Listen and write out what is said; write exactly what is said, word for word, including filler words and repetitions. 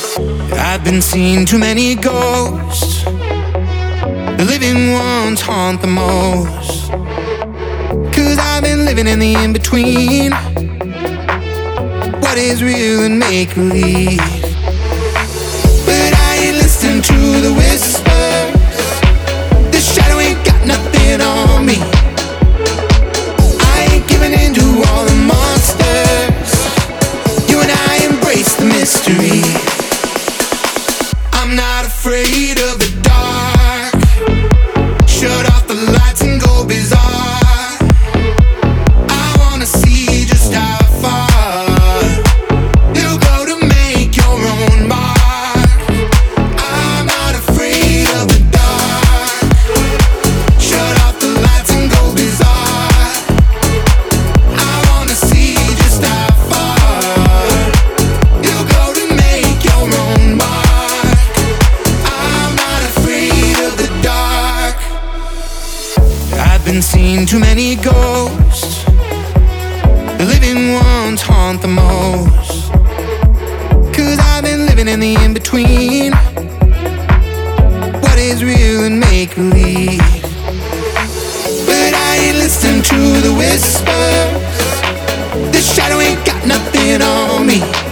I've been seeing too many ghosts. The living ones haunt the most. Cause I've been living in the in-between. What is real and make-believe? But I ain't listening to the whispers. The shadow ain't got nothing on me. I ain't giving in to all the monsters. You and I embrace the mystery. I'm not afraid of the dark. Shut off the lights and go bizarre. I wanna see just how far you'll go to make your own mark. I'm not afraid of the dark. Shut off the lights and go bizarre. I wanna see just how far you'll go to make your own mark. I'm not afraid of the dark. I've been seeing too many ghosts. The living ones haunt the most. Cause I've been living in the in-between. What is real and make-believe? But I ain't listening to the whispers. The shadow ain't got nothing on me.